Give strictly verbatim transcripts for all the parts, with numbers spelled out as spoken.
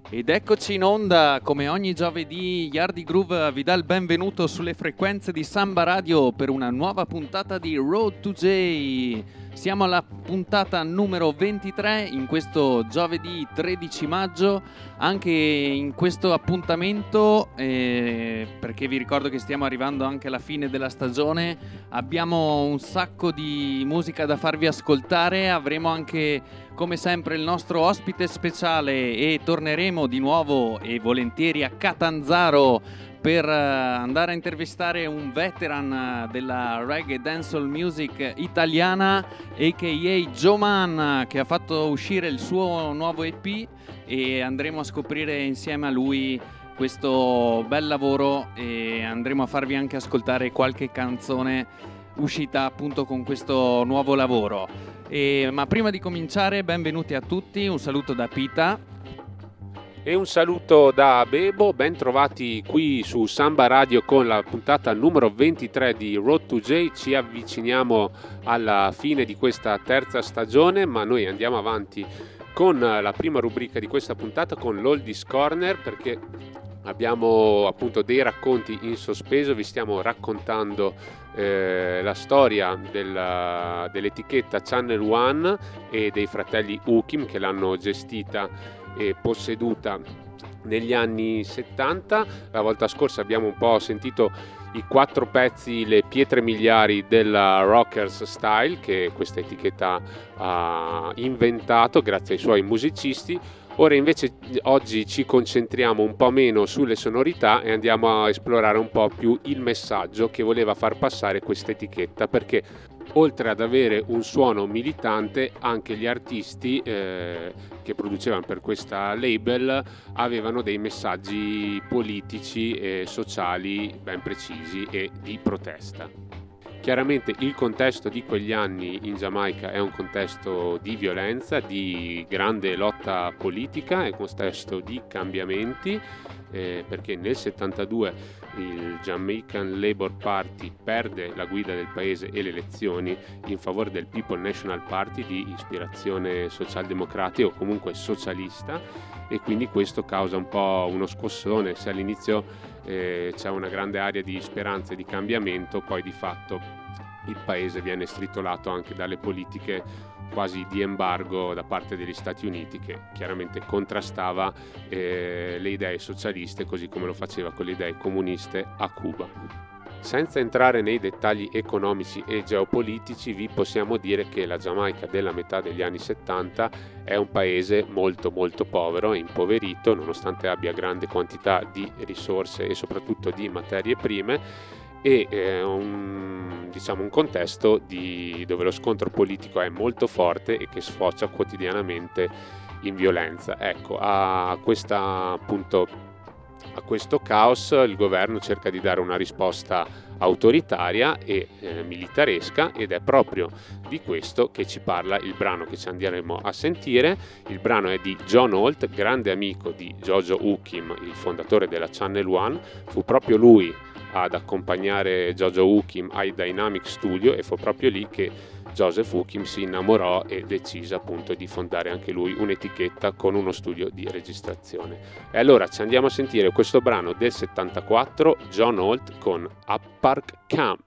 Ed eccoci in onda, come ogni giovedì, Yardi Groove vi dà il benvenuto sulle frequenze di Samba Radio per una nuova puntata di Road to J. Siamo alla puntata numero ventitré in questo giovedì tredici maggio. Anche in questo appuntamento, eh, perché vi ricordo che stiamo arrivando anche alla fine della stagione, abbiamo un sacco di musica da farvi ascoltare. Avremo anche, come sempre, il nostro ospite speciale e torneremo di nuovo e volentieri a Catanzaro per uh, andare a intervistare un veteran della reggae dancehall music italiana, a k a. Joe Man, che ha fatto uscire il suo nuovo E P, e andremo a scoprire insieme a lui questo bel lavoro e andremo a farvi anche ascoltare qualche canzone uscita appunto con questo nuovo lavoro. E, ma prima di cominciare, benvenuti a tutti, un saluto da Pita e un saluto da Bebo. Ben trovati qui su Samba Radio con la puntata numero ventitré di Road to J. Ci avviciniamo alla fine di questa terza stagione, ma noi andiamo avanti con la prima rubrica di questa puntata, con l'Oldies Corner, perché abbiamo appunto dei racconti in sospeso. Vi stiamo raccontando eh, la storia della, dell'etichetta Channel One e dei fratelli Ukim, che l'hanno gestita e posseduta negli anni settanta. La volta scorsa abbiamo un po' sentito i quattro pezzi, le pietre miliari della Rockers Style, che questa etichetta ha inventato grazie ai suoi musicisti. Ora invece oggi ci concentriamo un po' meno sulle sonorità e andiamo a esplorare un po' più il messaggio che voleva far passare questa etichetta, perché oltre ad avere un suono militante, anche gli artisti eh, che producevano per questa label avevano dei messaggi politici e sociali ben precisi e di protesta. Chiaramente il contesto di quegli anni in Giamaica è un contesto di violenza, di grande lotta politica, è un contesto di cambiamenti, eh, perché nel settantadue il Jamaican Labour Party perde la guida del paese e le elezioni in favore del People National Party di ispirazione socialdemocratica o comunque socialista, e quindi questo causa un po' uno scossone. Se all'inizio eh, c'è una grande area di speranza e di cambiamento, poi di fatto il paese viene stritolato anche dalle politiche quasi di embargo da parte degli Stati Uniti, che chiaramente contrastava eh, le idee socialiste, così come lo faceva con le idee comuniste a Cuba. Senza entrare nei dettagli economici e geopolitici, vi possiamo dire che la Giamaica della metà degli anni settanta è un paese molto molto povero e impoverito, nonostante abbia grande quantità di risorse e soprattutto di materie prime, e eh, un, diciamo un contesto di, dove lo scontro politico è molto forte e che sfocia quotidianamente in violenza. Ecco, a questa appunto a questo caos il governo cerca di dare una risposta autoritaria e eh, militaresca, ed è proprio di questo che ci parla il brano che ci andremo a sentire. Il brano è di John Holt, grande amico di Jojo Ukim, il fondatore della Channel One. Fu proprio lui ad accompagnare Jojo Ukim ai Dynamic Studio, e fu proprio lì che Joseph Ukim si innamorò e decise appunto di fondare anche lui un'etichetta con uno studio di registrazione. E allora ci andiamo a sentire questo brano del settantaquattro, John Holt con Up Park Camp.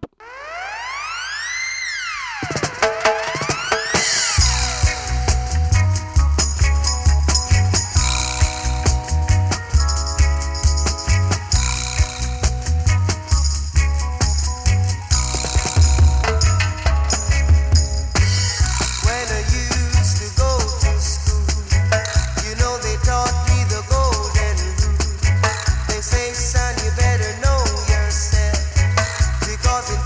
Say, son, you better know yourself, because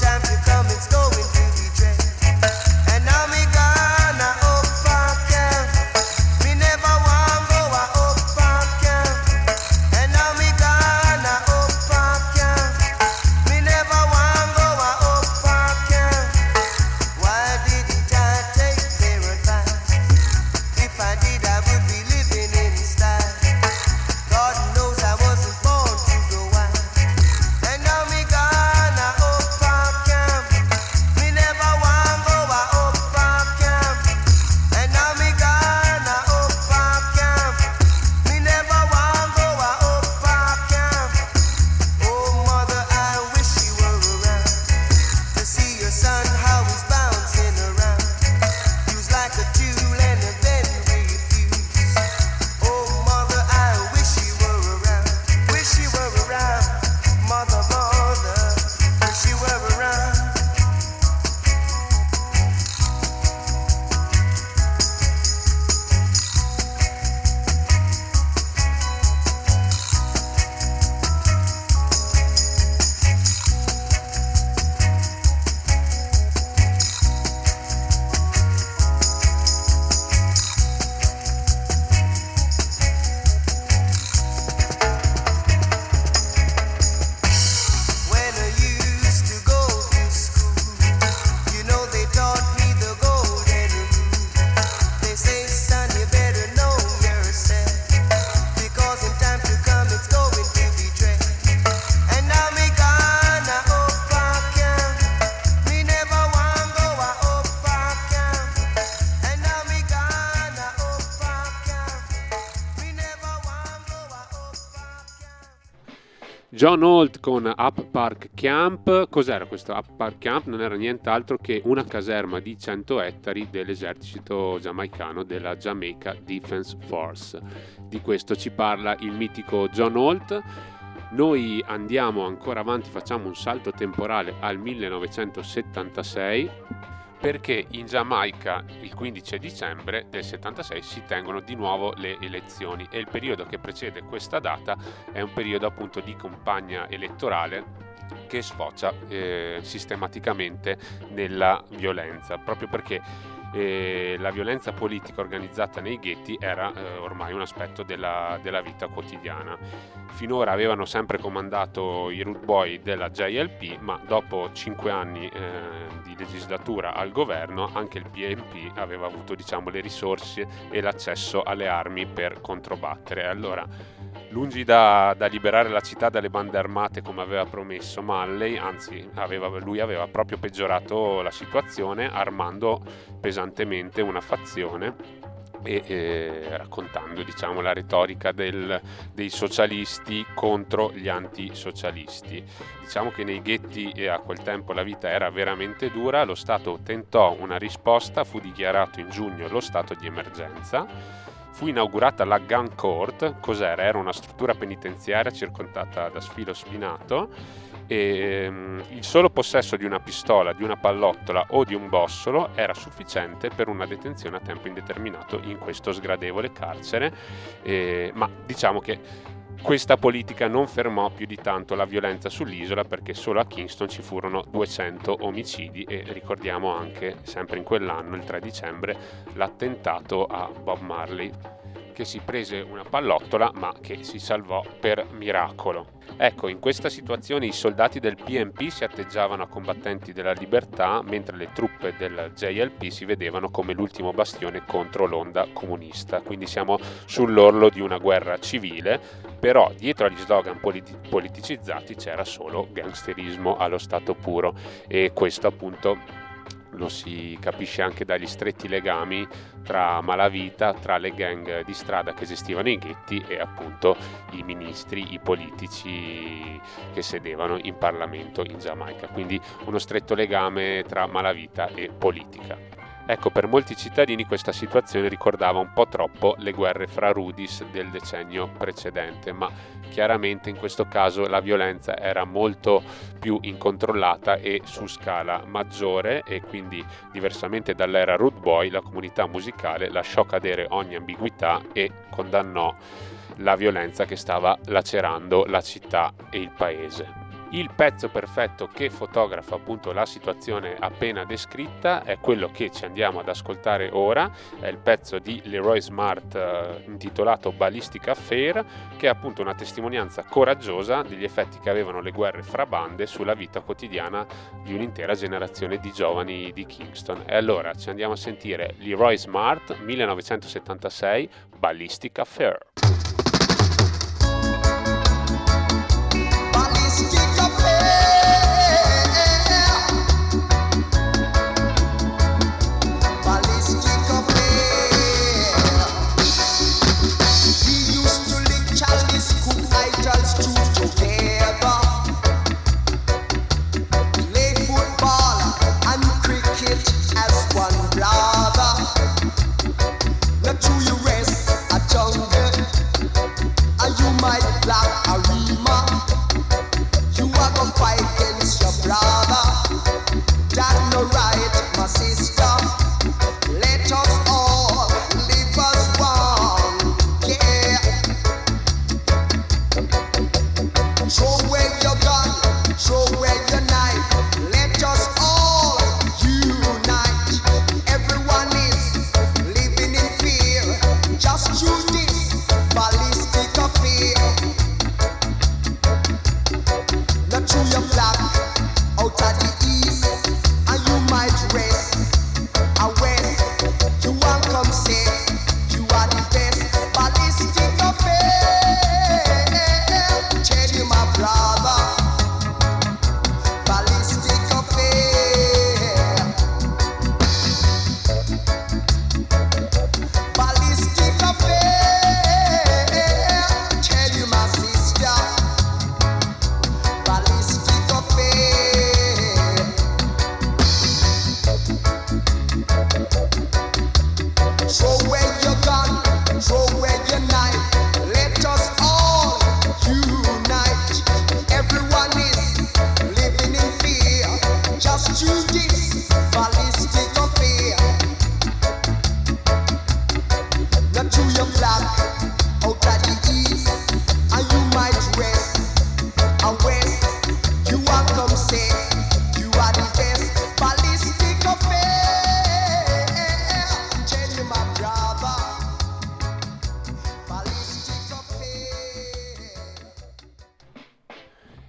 John Holt con Up Park Camp. Cos'era questo Up Park Camp? Non era nient'altro che una caserma di cento ettari dell'esercito giamaicano, della Jamaica Defense Force. Di questo ci parla il mitico John Holt. Noi andiamo ancora avanti, facciamo un salto temporale al millenovecentosettantasei, perché in Giamaica il quindici dicembre del settantasei si tengono di nuovo le elezioni e il periodo che precede questa data è un periodo appunto di campagna elettorale che sfocia eh, sistematicamente nella violenza, proprio perché eh, la violenza politica organizzata nei ghetti era eh, ormai un aspetto della, della vita quotidiana. Finora avevano sempre comandato i Rude Boy della J L P, ma dopo cinque anni eh, di legislatura al governo anche il P N P aveva avuto, diciamo, le risorse e l'accesso alle armi per controbattere. Allora, lungi da, da liberare la città dalle bande armate come aveva promesso Malley, anzi aveva, lui aveva proprio peggiorato la situazione armando pesantemente una fazione e eh, raccontando, diciamo, la retorica del, dei socialisti contro gli antisocialisti. Diciamo che nei ghetti e a quel tempo la vita era veramente dura, lo Stato tentò una risposta, fu dichiarato in giugno lo stato di emergenza. Fu inaugurata la Gun Court. Cos'era? Era una struttura penitenziaria circondata da sfilo spinato e um, il solo possesso di una pistola, di una pallottola o di un bossolo era sufficiente per una detenzione a tempo indeterminato in questo sgradevole carcere, eh, ma diciamo che questa politica non fermò più di tanto la violenza sull'isola, perché solo a Kingston ci furono duecento omicidi e ricordiamo anche, sempre in quell'anno, il tre dicembre, l'attentato a Bob Marley, che si prese una pallottola ma che si salvò per miracolo. Ecco, in questa situazione i soldati del P N P si atteggiavano a combattenti della libertà, mentre le truppe del J L P si vedevano come l'ultimo bastione contro l'onda comunista. Quindi siamo sull'orlo di una guerra civile, però dietro agli slogan politi- politicizzati c'era solo gangsterismo allo stato puro, e questo appunto lo si capisce anche dagli stretti legami tra malavita, tra le gang di strada che gestivano i ghetti e appunto i ministri, i politici che sedevano in Parlamento in Giamaica. Quindi uno stretto legame tra malavita e politica. Ecco, per molti cittadini questa situazione ricordava un po' troppo le guerre fra Rudis del decennio precedente, ma chiaramente in questo caso la violenza era molto più incontrollata e su scala maggiore, e quindi, diversamente dall'era Rude Boy, la comunità musicale lasciò cadere ogni ambiguità e condannò la violenza che stava lacerando la città e il paese. Il pezzo perfetto che fotografa appunto la situazione appena descritta è quello che ci andiamo ad ascoltare ora, è il pezzo di Leroy Smart eh, intitolato Ballistic Affair, che è appunto una testimonianza coraggiosa degli effetti che avevano le guerre fra bande sulla vita quotidiana di un'intera generazione di giovani di Kingston. E allora ci andiamo a sentire Leroy Smart, millenovecentosettantasei, Ballistic Affair. Not to you rest a jungle.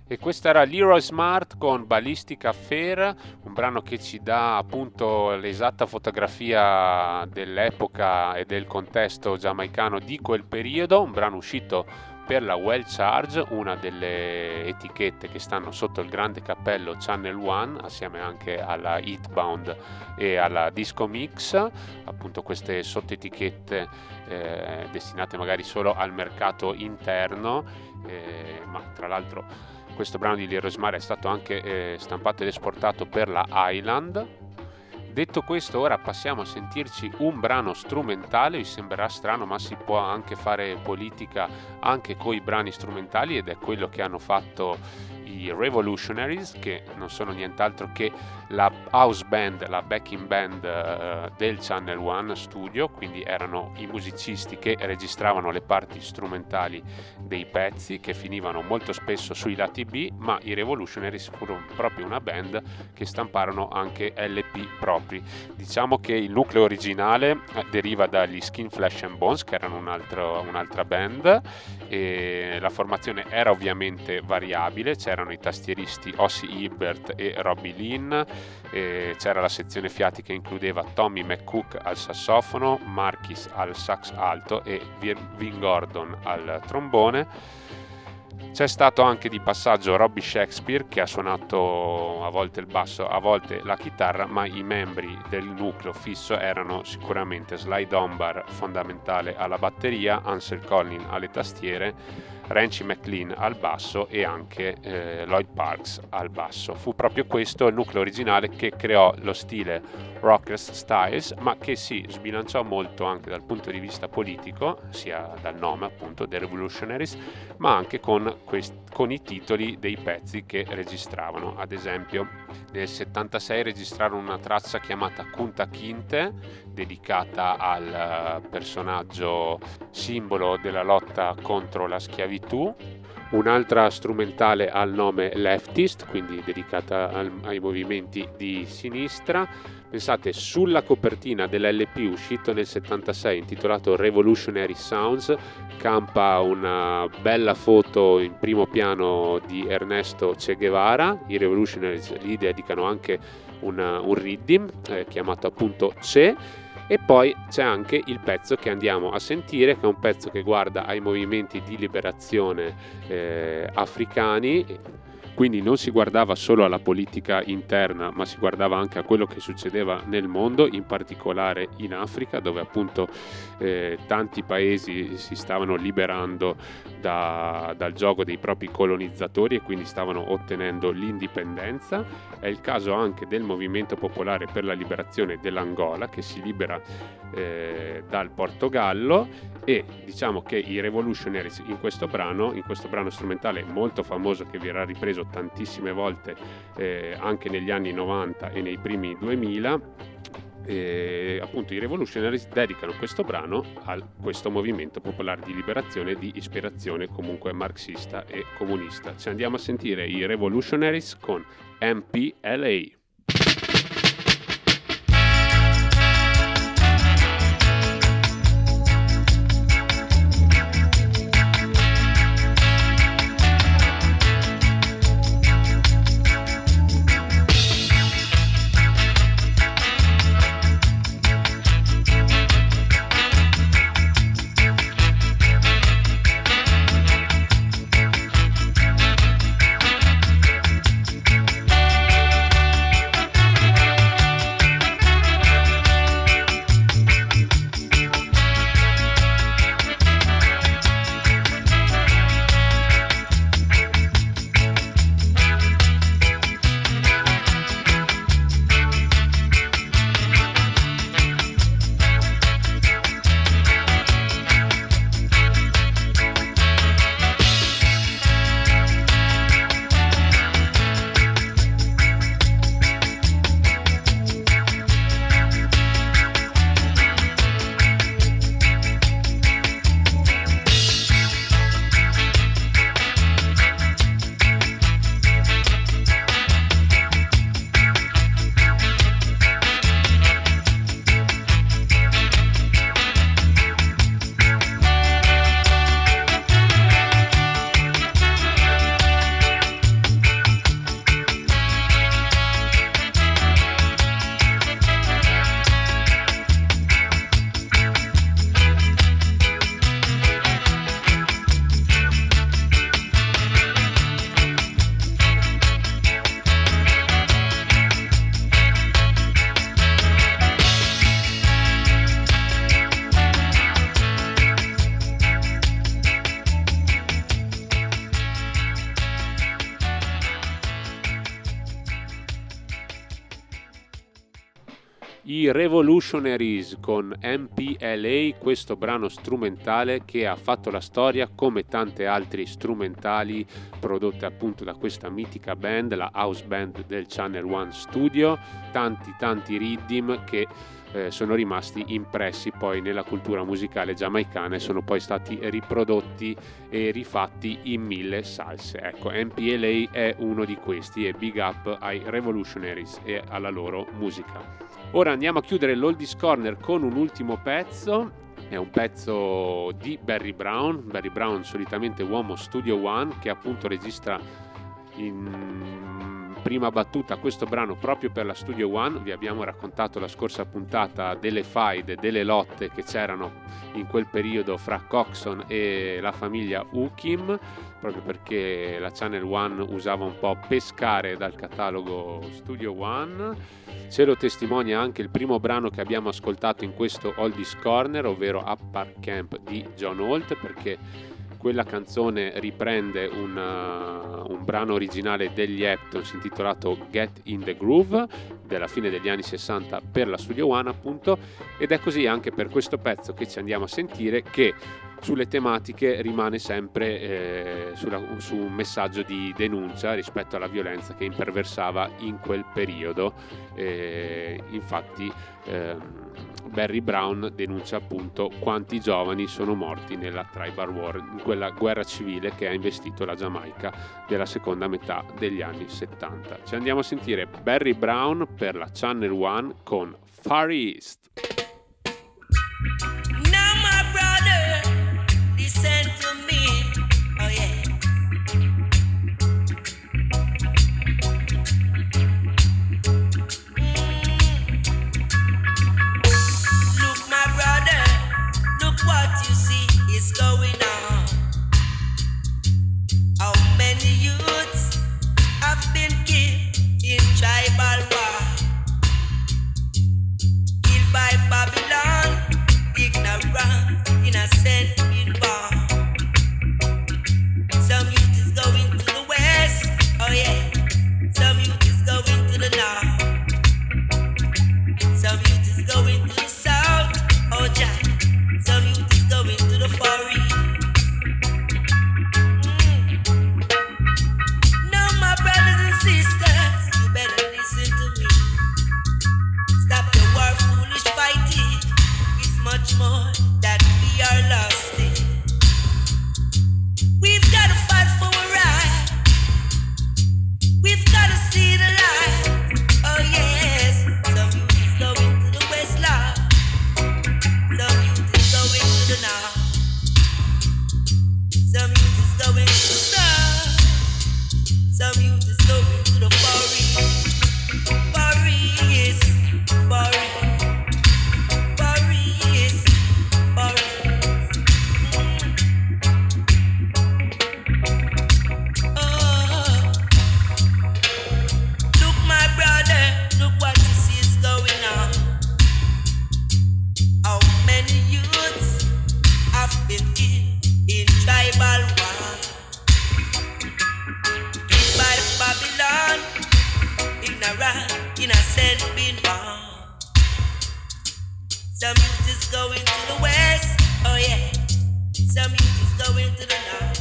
E questa era Leroy Smart con Ballistic Affair, un brano che ci dà appunto l'esatta fotografia dell'epoca e del contesto giamaicano di quel periodo, un brano uscito per la Well Charge, una delle etichette che stanno sotto il grande cappello Channel One, assieme anche alla Hitbound e alla Disco Mix, appunto queste sottoetichette eh, destinate magari solo al mercato interno, eh, ma tra l'altro questo brano di Leroy Smart è stato anche eh, stampato ed esportato per la Island. Detto questo, ora passiamo a sentirci un brano strumentale. Vi sembrerà strano, ma si può anche fare politica anche con i brani strumentali, ed è quello che hanno fatto i Revolutionaries, che non sono nient'altro che la house band, la backing band uh, del Channel One Studio, quindi erano i musicisti che registravano le parti strumentali dei pezzi che finivano molto spesso sui lati B, ma i Revolutionaries furono proprio una band che stamparono anche L P propri. Diciamo che il nucleo originale deriva dagli Skin, Flesh and Bones, che erano un altro, un'altra band, e la formazione era ovviamente variabile. C'erano i tastieristi Ossie Hibbert e Robbie Lynn, e c'era la sezione fiati che includeva Tommy McCook al sassofono, Marquis al sax alto e Vin Gordon al trombone. C'è stato anche di passaggio Robbie Shakespeare, che ha suonato a volte il basso, a volte la chitarra, ma i membri del nucleo fisso erano sicuramente Sly Dunbar, fondamentale alla batteria, Ansel Collin alle tastiere, Ranchi McLean al basso e anche eh, Lloyd Parks al basso. Fu proprio questo il nucleo originale che creò lo stile Rockers Styles, ma che si sbilanciò molto anche dal punto di vista politico, sia dal nome appunto The Revolutionaries, ma anche con, quest- con i titoli dei pezzi che registravano. Ad esempio nel settantasei registrarono una traccia chiamata Kunta Kinte, dedicata al personaggio simbolo della lotta contro la schiavitù, un'altra strumentale al nome Leftist, quindi dedicata al, ai movimenti di sinistra. Pensate, sulla copertina dell'L P uscito nel settantasei, intitolato Revolutionary Sounds, campa una bella foto in primo piano di Ernesto Che Guevara. I Revolutionaries gli dedicano anche una, un riddim eh, chiamato appunto Che. E poi c'è anche il pezzo che andiamo a sentire, che è un pezzo che guarda ai movimenti di liberazione eh, africani. Quindi non si guardava solo alla politica interna, ma si guardava anche a quello che succedeva nel mondo, in particolare in Africa, dove appunto eh, tanti paesi si stavano liberando da, dal giogo dei propri colonizzatori e quindi stavano ottenendo l'indipendenza. È il caso anche del Movimento Popolare per la Liberazione dell'Angola, che si libera eh, dal Portogallo, e diciamo che i Revolutionaries in questo brano, in questo brano strumentale molto famoso che verrà ripreso tantissime volte eh, anche negli anni novanta e nei primi duemila, eh, appunto i Revolutionaries dedicano questo brano a questo movimento popolare di liberazione di ispirazione comunque marxista e comunista. Ci andiamo a sentire i Revolutionaries con M P L A. I Revolutionaries con M P L A, questo brano strumentale che ha fatto la storia come tante altre strumentali prodotte appunto da questa mitica band, la house band del Channel One Studio, tanti tanti rhythm che eh, sono rimasti impressi poi nella cultura musicale giamaicana e sono poi stati riprodotti e rifatti in mille salse. Ecco, M P L A è uno di questi e big up ai Revolutionaries e alla loro musica. Ora andiamo a chiudere l'Oldies Corner con un ultimo pezzo, è un pezzo di Barry Brown, Barry Brown solitamente uomo Studio One, che appunto registra in prima battuta questo brano proprio per la Studio One. Vi abbiamo raccontato la scorsa puntata delle faide, delle lotte che c'erano in quel periodo fra Coxon e la famiglia Ukim, proprio perché la Channel One usava un po' pescare dal catalogo Studio One. Ce lo testimonia anche il primo brano che abbiamo ascoltato in questo Oldies Corner, ovvero Up Park Camp di John Holt, perché quella canzone riprende una, un brano originale degli Heptones intitolato Get in the Groove della fine degli anni sessanta per la Studio One appunto, ed è così anche per questo pezzo che ci andiamo a sentire, che sulle tematiche rimane sempre eh, sulla, su un messaggio di denuncia rispetto alla violenza che imperversava in quel periodo. Eh, infatti ehm, Barry Brown denuncia appunto quanti giovani sono morti nella Tribal War, in quella guerra civile che ha investito la Giamaica della seconda metà degli anni settanta. Ci andiamo a sentire Barry Brown per la Channel One con Far East. Listen to me, oh yeah. Mm. Look, my brother, look what you see is going on. How many youths have been killed in tribal war? Killed by Babylon, ignorant, innocent. Some youth is going to the west, oh yeah. Some youth is going to the north. Some youth is going to the south, oh yeah. Some youth is going to the far east. Mm. Now my brothers and sisters, you better listen to me. Stop the war, foolish fighting. It's much more that we are lost in. We've got to fight for a right. We've got to see the light. Oh yes. Some youth is going to the west line. Some youth is going to the north. Some youth is going to the south. Some youth is going to the far east. Far east. Far east. Far east. Far east. Innocent been born. Some youth is going to the west, oh yeah. Some youth is going to the north.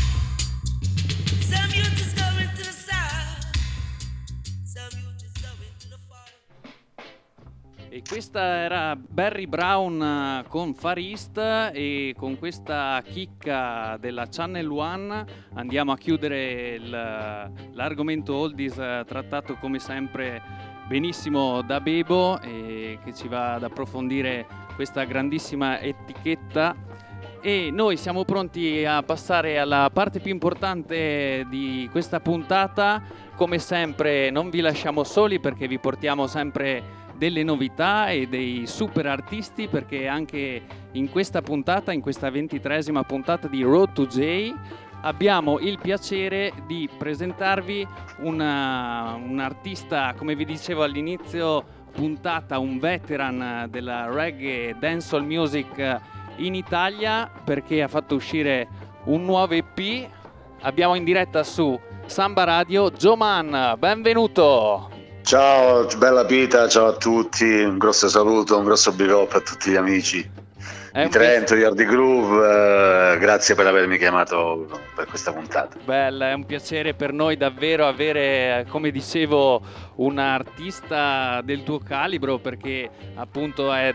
Some youth is going to the south. Some youth is going to the far. E questa era Barry Brown con Far East, e con questa chicca della Channel One andiamo a chiudere il, l'argomento oldies trattato come sempre benissimo da Bebo, e che ci va ad approfondire questa grandissima etichetta. E noi siamo pronti a passare alla parte più importante di questa puntata. Come sempre non vi lasciamo soli, perché vi portiamo sempre delle novità e dei super artisti, perché anche in questa puntata, in questa ventitreesima puntata di Road to J, abbiamo il piacere di presentarvi una, un artista, come vi dicevo all'inizio puntata, un veteran della reggae dancehall music in Italia, perché ha fatto uscire un nuovo E P. Abbiamo in diretta su Samba Radio Joe Man, benvenuto! Ciao, bella Pita, ciao a tutti, un grosso saluto, un grosso big up a tutti gli amici È di un Trento, di Hardy Groove, eh, grazie per avermi chiamato per questa puntata. Bella, è un piacere per noi davvero avere, come dicevo, un artista del tuo calibro, perché appunto è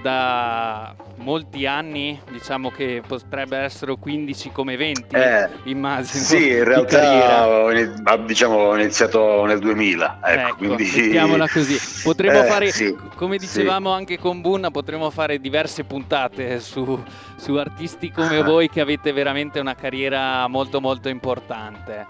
da molti anni, diciamo che potrebbe essere quindici come venti, Eh, immagino. Sì, in di carriera. realtà ho, ini- ah, diciamo, ho iniziato nel duemila, ecco, Ecco, quindi... mettiamola così. Potremmo Eh, fare, sì, come sì. dicevamo anche con Bunna, potremmo fare diverse puntate su, su artisti come voi che avete veramente una carriera molto molto importante.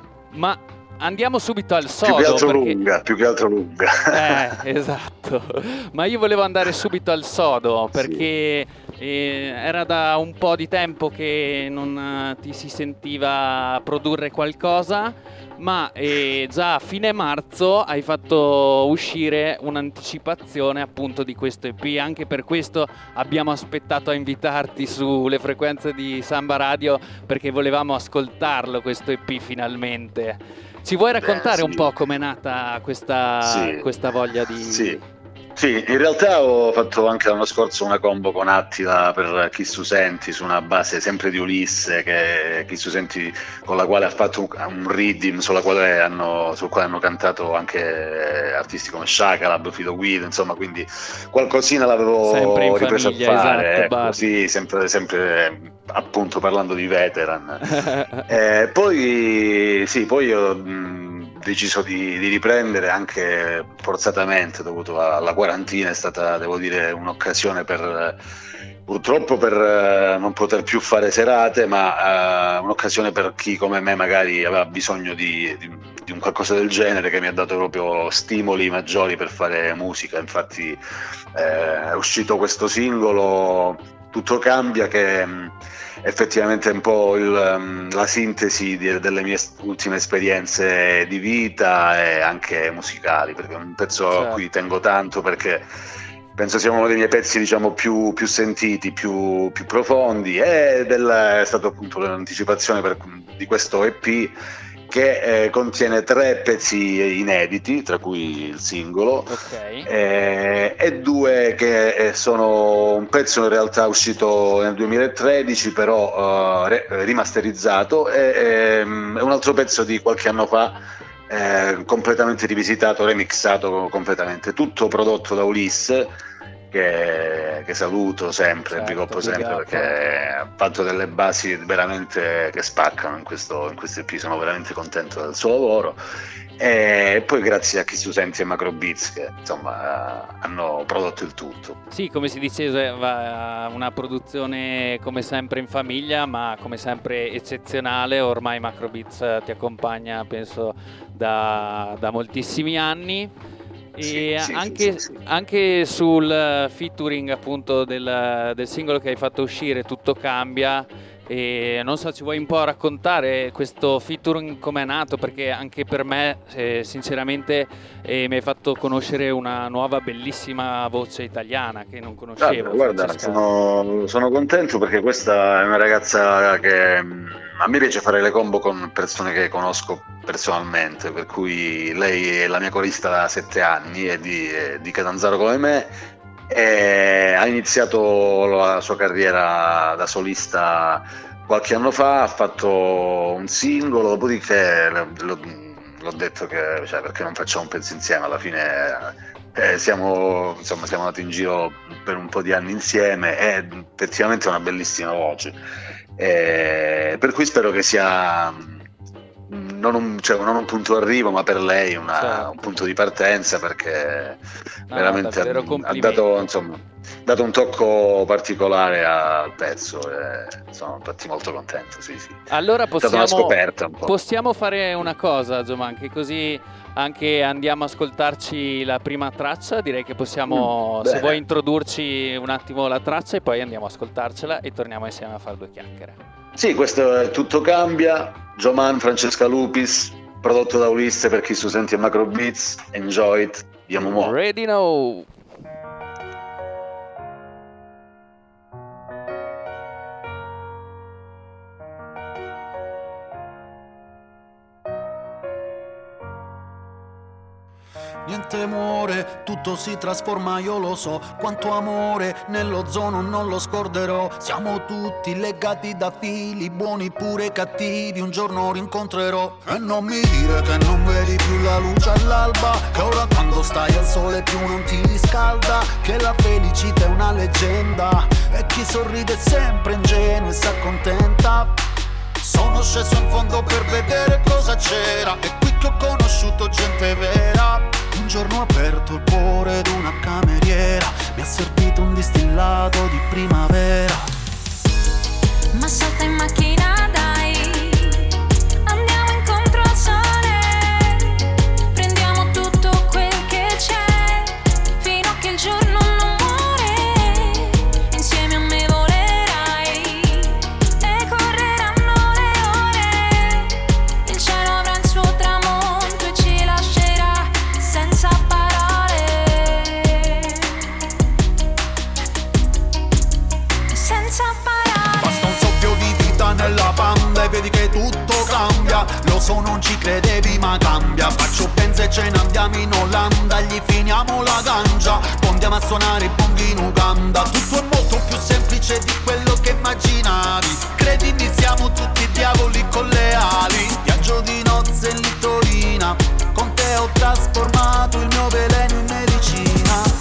Ma andiamo subito al sodo. Più che altro perché... lunga, più che altro lunga. Eh, esatto. Ma io volevo andare subito al sodo perché eh, era da un po' di tempo che non eh, ti si sentiva produrre qualcosa, ma eh, già a fine marzo hai fatto uscire un'anticipazione appunto di questo E P. Anche per questo abbiamo aspettato a invitarti sulle frequenze di Samba Radio, perché volevamo ascoltarlo questo E P finalmente. Ci vuoi raccontare Beh, un sì. po' com'è nata questa, Sì. questa voglia di... Sì. Sì, in realtà ho fatto anche l'anno scorso una combo con Attila per Chi su Senti, su una base sempre di Ulisse, che Chi su Senti, con la quale ha fatto un, un reading sulla quale hanno, sul quale hanno cantato anche artisti come Shakalab, Fido Guido, insomma, quindi qualcosina l'avevo Sempre in ripreso famiglia, a fare, esatto, ecco, Bud. sì, sempre, sempre appunto parlando di veteran. Eh, poi sì, poi ho mh, deciso di, di riprendere anche forzatamente dovuto alla quarantina. È stata, devo dire, un'occasione per purtroppo per eh, non poter più fare serate, ma eh, un'occasione per chi come me magari aveva bisogno di, di, di un qualcosa del genere, che mi ha dato proprio stimoli maggiori per fare musica. Infatti eh, è uscito questo singolo Tutto Cambia, che mh, effettivamente è un po' il, um, la sintesi di, delle mie ultime esperienze di vita e anche musicali, perché è un pezzo Certo. a cui tengo tanto, perché penso sia uno dei miei pezzi, diciamo, più, più sentiti, più, più profondi, ed è stato appunto l'anticipazione per, di questo E P, che eh, contiene tre pezzi inediti, tra cui il singolo, Ok. eh, e due che eh, sono un pezzo in realtà uscito nel duemilatredici, però eh, re- rimasterizzato, e ehm, un altro pezzo di qualche anno fa, eh, completamente rivisitato, remixato completamente, tutto prodotto da Ulisse, che, che saluto sempre, Certo, big up big sempre, up. perché ha fatto delle basi veramente che spaccano in questo, in questo E P. Sono veramente contento del suo lavoro, e poi grazie a Chi su Senti e Macro Beats, che insomma hanno prodotto il tutto. Sì, come si diceva, una produzione come sempre in famiglia, ma come sempre eccezionale. Ormai Macro Beats ti accompagna, penso, da, da moltissimi anni. E Sì, sì, anche, sì, sì, sì. anche sul featuring appunto del, del singolo che hai fatto uscire, Tutto Cambia. E non so, ci vuoi un po' raccontare questo featuring come è nato? Perché anche per me eh, sinceramente eh, mi hai fatto conoscere una nuova bellissima voce italiana che non conoscevo. Guarda, guarda, sono, sono contento, perché questa è una ragazza che mh, a me piace fare le combo con persone che conosco personalmente, per cui lei è la mia corista da sette anni, è di, è di Catanzaro come me, e ha iniziato la sua carriera da solista qualche anno fa, ha fatto un singolo, dopodiché l'ho, l'ho detto che, cioè, perché non facciamo un pezzo insieme, alla fine eh, siamo, insomma, siamo andati in giro per un po' di anni insieme, e effettivamente è una bellissima voce, e per cui spero che sia non un, cioè, non un punto d'arrivo, ma per lei una, Certo. un punto di partenza, perché No, veramente davvero ha, ha complimenti. dato, insomma, dato un tocco particolare al pezzo, e sono infatti molto contento. Sì, sì. Allora È stata una possiamo, scoperta un po'. possiamo fare una cosa, Gioman, che così anche andiamo a ascoltarci la prima traccia. Direi che possiamo, Mm, se bene. vuoi introdurci un attimo la traccia, e poi andiamo a ascoltarcela e torniamo insieme a fare due chiacchiere. Sì, questo è Tutto Cambia, Gioman, Francesca Lupis, prodotto da Ulisse per Chi su Senti e Macro Beats. Enjoy it, diamo mo'. Ready now. niente muore, tutto si trasforma, io lo so. Quanto amore nell'ozono non lo scorderò. Siamo tutti legati da fili, buoni pure cattivi, un giorno rincontrerò. E non mi dire che non vedi più la luce all'alba, che ora quando stai al sole più non ti riscalda, che la felicità è una leggenda e chi sorride è sempre ingenuo e si accontenta. Sono sceso in fondo per vedere cosa c'era, e qui che ho conosciuto gente vera. Un giorno ho aperto il cuore ad una cameriera, mi ha servito un distillato di primavera. Ma salta in macchina dai, andiamo incontro al sole, prendiamo tutto quel che c'è, fino a che il giorno non muore, insieme a me volerai e correranno le ore, il cielo avrà il suo tramonto e ci lascerà senza parole, senza parole. Basta un soffio di vita nella banda e vedi che tutto cambia. Lo so, non ci credevi ma cambia. Faccio pensa e ce ne andiamo in Olanda, gli finiamo la ganja, poi andiamo a suonare i bonghi in Uganda. Tutto è molto più semplice di quello che immaginavi. Credimi, siamo tutti diavoli con le ali. Viaggio di nozze in Littorina, con te ho trasformato il mio veleno in medicina.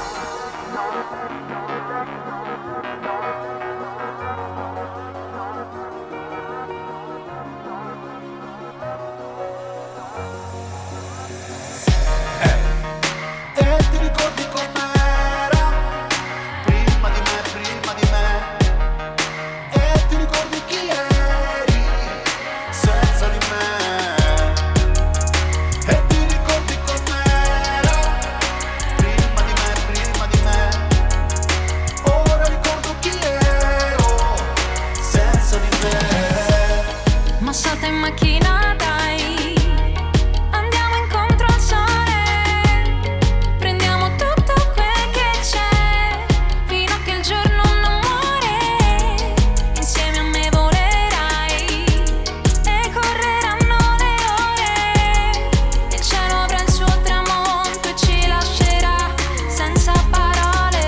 E ti ricordi com'era? Prima di me, prima di me. E ti ricordi chi eri? Senza di me. E ti ricordi com'era? Prima di me, prima di me. Ora ricordo chi ero. Senza di te. Ma salta in macchina dai, andiamo incontro al sole, prendiamo tutto quel che c'è, fino a che il giorno non muore, insieme a me volerai e correranno le ore, il cielo avrà il suo tramonto e ci lascerà senza parole,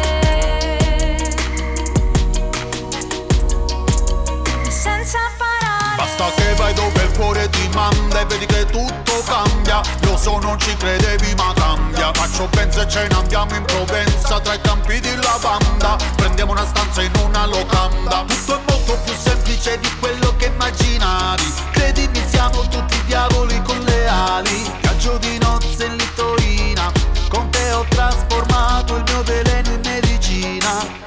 senza parole. Basta che vai dove il cuore ti manda e vedi che tutto cambia. Lo so, non ci credevi ma cambia. Faccio pensa e ce ne andiamo in Provenza, tra i campi di lavanda, prendiamo una stanza in una locanda. Tutto è molto più semplice di quello che immaginavi. Credimi, siamo tutti diavoli con le ali. Viaggio di nozze in Littorina, con te ho trasformato il mio veleno in medicina.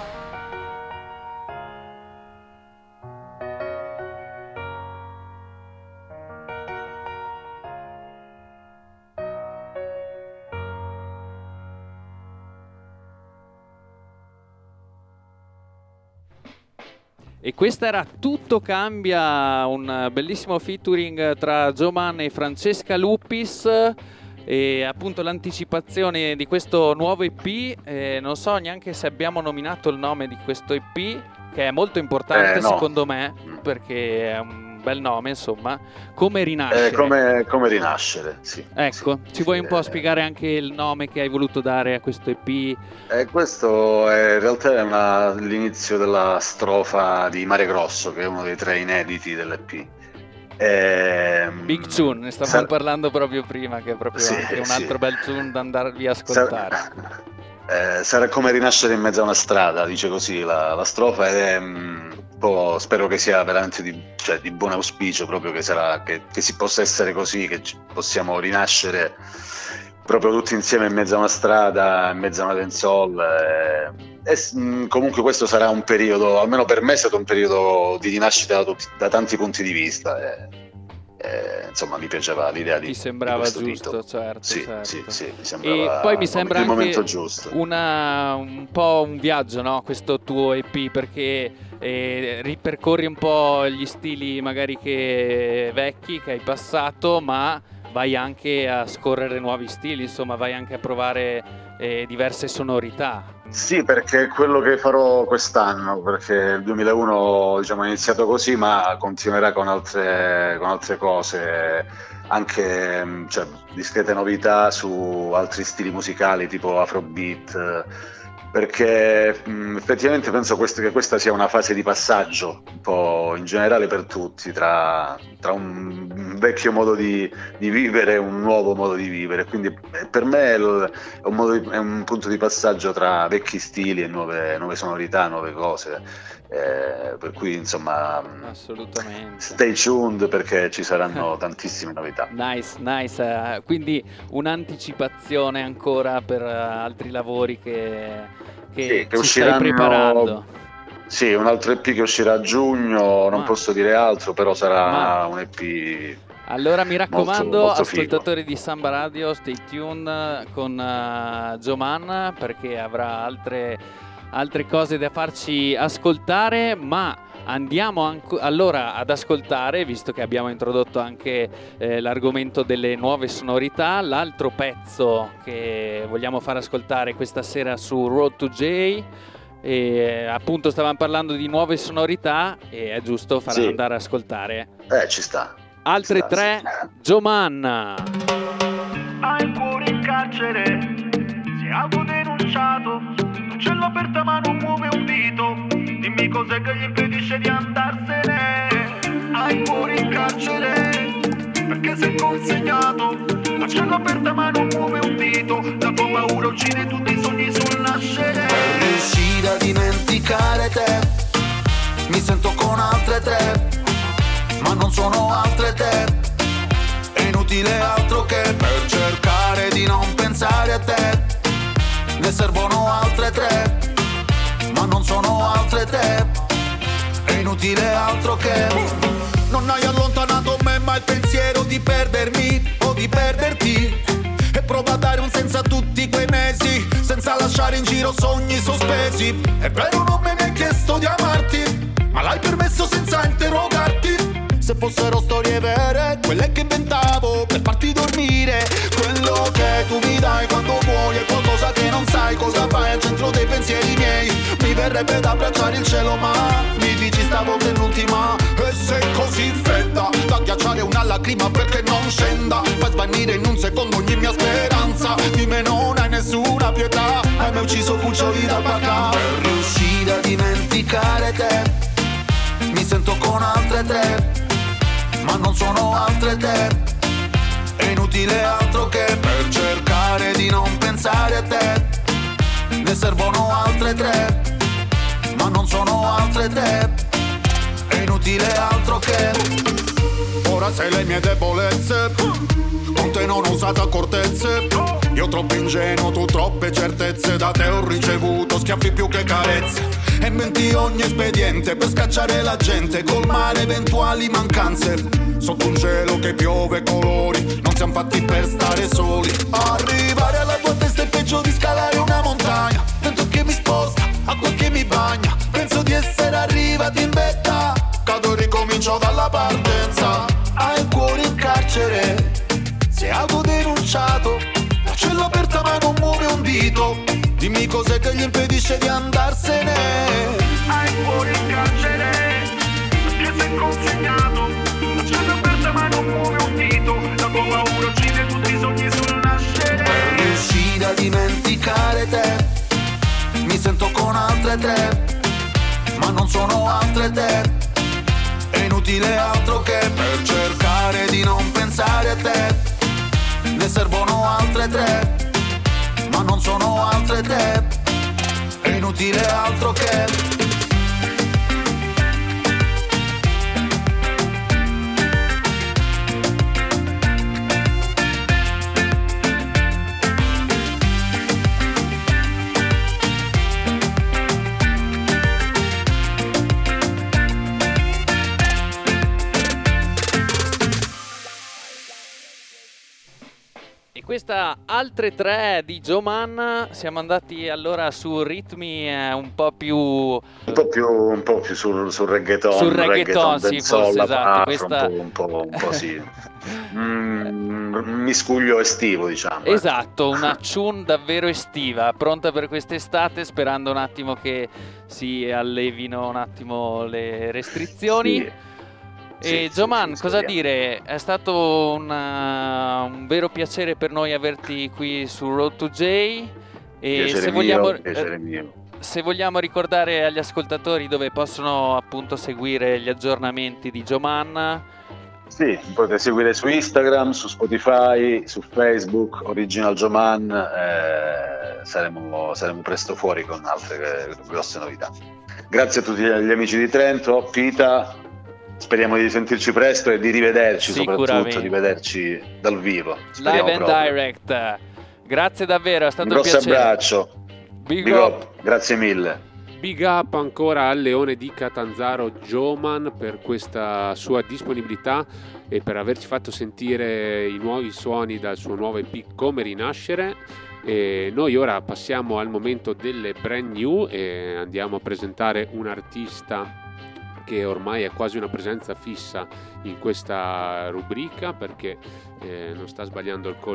E questa era Tutto Cambia, un bellissimo featuring tra Joman e Francesca Lupis, e appunto l'anticipazione di questo nuovo E P. Eh, non so neanche se abbiamo nominato il nome di questo E P, che è molto importante Eh, no. secondo me, perché è un bel nome, insomma. Come rinascere. Eh, come, come rinascere, sì. Ecco, Sì, ci sì, vuoi un po' eh. spiegare anche il nome che hai voluto dare a questo E P? Eh, questo è, in realtà è una- l'inizio della strofa di Mare Grosso, che è uno dei tre inediti dell'E P. Ehm, Big Tune, ne stavamo sar- parlando proprio prima, che è proprio Sì, anche un sì. altro bel tune da andarvi a ascoltare. Sar- eh, sarà come rinascere in mezzo a una strada, dice così la, la strofa, ed è mm, un po', spero che sia veramente di, cioè, di buon auspicio, proprio che, sarà, che, che si possa essere così, che ci- possiamo rinascere proprio tutti insieme in mezzo a una strada, in mezzo a una dancehall. eh, e s- mh, comunque questo sarà un periodo, almeno per me è stato un periodo di rinascita da, tutti- da tanti punti di vista. eh. Eh, insomma, mi piaceva l'idea di Ti sembrava di questo giusto, titolo. certo, Sì, certo. sì, sì, mi E sembrava poi mi il sembra momento- il anche momento giusto. una, un po' un viaggio, no? Questo tuo E P, perché eh, ripercorri un po' gli stili magari che vecchi che hai passato, ma vai anche a scorrere nuovi stili, insomma, vai anche a provare eh, diverse sonorità. Sì, perché è quello che farò quest'anno, perché il duemilauno diciamo, è iniziato così, ma continuerà con altre, con altre cose, anche mh, cioè, discrete novità su altri stili musicali tipo Afrobeat, perché mh, effettivamente penso quest- che questa sia una fase di passaggio, un po' in generale per tutti, tra, tra un, un vecchio modo di, di vivere e un nuovo modo di vivere. Quindi eh, per me è, il- è un modo di- è un punto di passaggio tra vecchi stili e nuove, nuove sonorità, nuove cose. Eh, per cui insomma, mh, Assolutamente. stay tuned perché ci saranno tantissime novità. Nice, nice. eh, Quindi un'anticipazione ancora per eh, altri lavori che, che Sì, che ci stai usciranno. preparando. Sì, un altro E P che uscirà a giugno, non Ma- posso dire altro, però sarà Ma- un E P. Allora mi raccomando, Molto- molto figo. ascoltatori di Samba Radio, stay tuned con uh, Gioman perché avrà altre, altre cose da farci ascoltare, ma andiamo anco- allora ad ascoltare, visto che abbiamo introdotto anche eh, l'argomento delle nuove sonorità, l'altro pezzo che vogliamo far ascoltare questa sera su Road to J. E appunto stavamo parlando di nuove sonorità e è giusto far Sì. andare ad ascoltare Eh, ci sta. altre Sta, tre. sì. Gioman. Hai il cuore in carcere, sei autodenunciato, non c'è l'aperta ma non muove un dito, dimmi cos'è che gli impedisce di andarsene. Hai il cuore in carcere, perché sei consegnato, non c'è l'aperta ma non muove un dito, la tua paura uccide tutti i sogni sul nascere. Per riuscire a dimenticare te, mi sento con altre tre, ma non sono altre te. È inutile altro che per cercare di non pensare a te. Ne servono altre tre, ma non sono altre te. È inutile altro che. Non hai allontanato me mai il pensiero di perdermi o di perderti. E prova a dare un senso a tutti quei mesi, senza lasciare in giro sogni sospesi. È vero non me ne hai chiesto di amarti, ma l'hai permesso senza interrogarti. Se fossero storie vere, quelle che inventavo per farti dormire. Quello che tu mi dai quando vuoi è qualcosa che non sai cosa fai al centro dei pensieri miei. Mi verrebbe da abbracciare il cielo ma mi dici stavo penultima. E sei così fredda da ghiacciare una lacrima perché non scenda. Fai svanire in un secondo ogni mia speranza. Di me non hai nessuna pietà, hai mai ucciso cuccioli da vacca. Per riuscire a dimenticare te, mi sento con altre tre, ma non sono altre te. È inutile altro che per cercare di non pensare a te. Ne servono altre tre, ma non sono altre te. È inutile altro che. Ora sei le mie debolezze, con te non ho usato accortezze. Io troppo ingenuo, tu troppe certezze. Da te ho ricevuto schiaffi più che carezze. E inventi ogni espediente per scacciare la gente, colmare eventuali mancanze. Sotto un cielo che piove colori, non siamo fatti per stare soli. Arrivare alla tua testa è peggio di scalare una montagna. Vento che mi sposta, acqua che mi bagna. Penso di essere arrivati in vetta, cado e ricomincio dalla partenza. Hai il cuore in carcere, sei autodenunciato, la cella aperta ma non muove un dito. Dimmi cos'è che gli impedisce di andarsene. Hai il cuore in carcere, perché sei consegnato, la cella aperta ma non muove un dito, la tua paura uccide tutti i sogni sul nascere. Per riuscire a dimenticare te, mi sento con altre tre, ma non sono altre te. È inutile altro che per cercare di non pensare a te. Ne servono altre tre, ma non sono altre te. È inutile altro che. questa altre tre di Joe Mann siamo andati allora su ritmi eh, un po' più un po' più un po' più sul, sul reggaeton, sul reggaeton, sì, forse esatto, questa... un po' un po', un po' sì. mm, un miscuglio estivo, diciamo. Esatto, una tune davvero estiva, pronta per quest'estate, sperando un attimo che si allevino un attimo le restrizioni. Sì. E sì, Gioman, sì, cosa speriamo. dire? È stato una, un vero piacere per noi averti qui su Road to J. E Piacere se mio, vogliamo, piacere eh, mio. se vogliamo ricordare agli ascoltatori dove possono appunto seguire gli aggiornamenti di Gioman. Sì, potete seguire su Instagram, su Spotify, su Facebook, Original Gioman, eh, saremo, saremo presto fuori con altre eh, grosse novità. Grazie a tutti gli amici di Trento, Pita, speriamo di sentirci presto e di rivederci, soprattutto di vederci dal vivo. Speriamo Live and proprio. direct. Grazie davvero, è stato un un, grosso piacere. abbraccio, Big, Big up. up, grazie mille. Big up ancora al Leone di Catanzaro Gioman per questa sua disponibilità e per averci fatto sentire i nuovi suoni dal suo nuovo E P Come Rinascere. E noi ora passiamo al momento delle brand new e andiamo a presentare un artista che ormai è quasi una presenza fissa in questa rubrica perché eh, non sta sbagliando il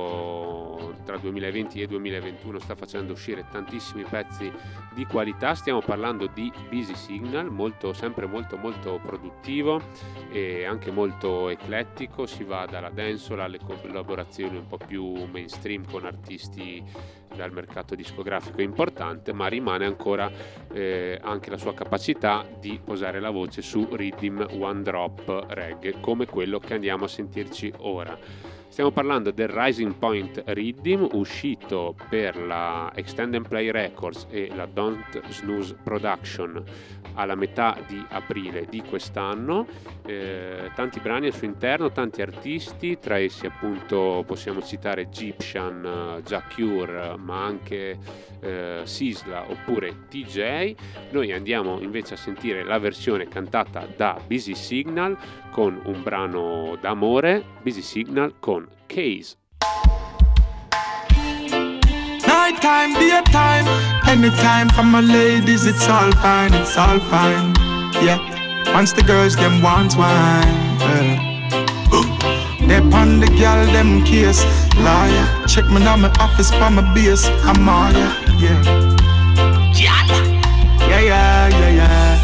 colpo tra duemilaventi e duemilaventuno, sta facendo uscire tantissimi pezzi di qualità. Stiamo parlando di Busy Signal, molto, sempre molto molto produttivo e anche molto eclettico, si va dalla dancehall alle collaborazioni un po' più mainstream con artisti dal mercato discografico importante, ma rimane ancora eh, anche la sua capacità di posare la voce su rhythm one drop reggae come quello che andiamo a sentirci ora. Stiamo parlando del Rising Point Rhythm, uscito per la Extend and Play Records e la Don't Snooze Production alla metà di aprile di quest'anno. Eh, tanti brani al suo interno, tanti artisti, tra essi appunto possiamo citare Egyptian, Jacure, ma anche eh, Sisla oppure T J. Noi andiamo invece a sentire la versione cantata da Busy Signal con un brano d'amore, Busy Signal con Case. Nighttime, daytime, anytime for my ladies, it's all fine, it's all fine. Yeah, once the girls them want wine, yeah. They pon the girl them case, liar. Check me now my office for my base, I'm all yeah, yeah, yeah, yeah, yeah.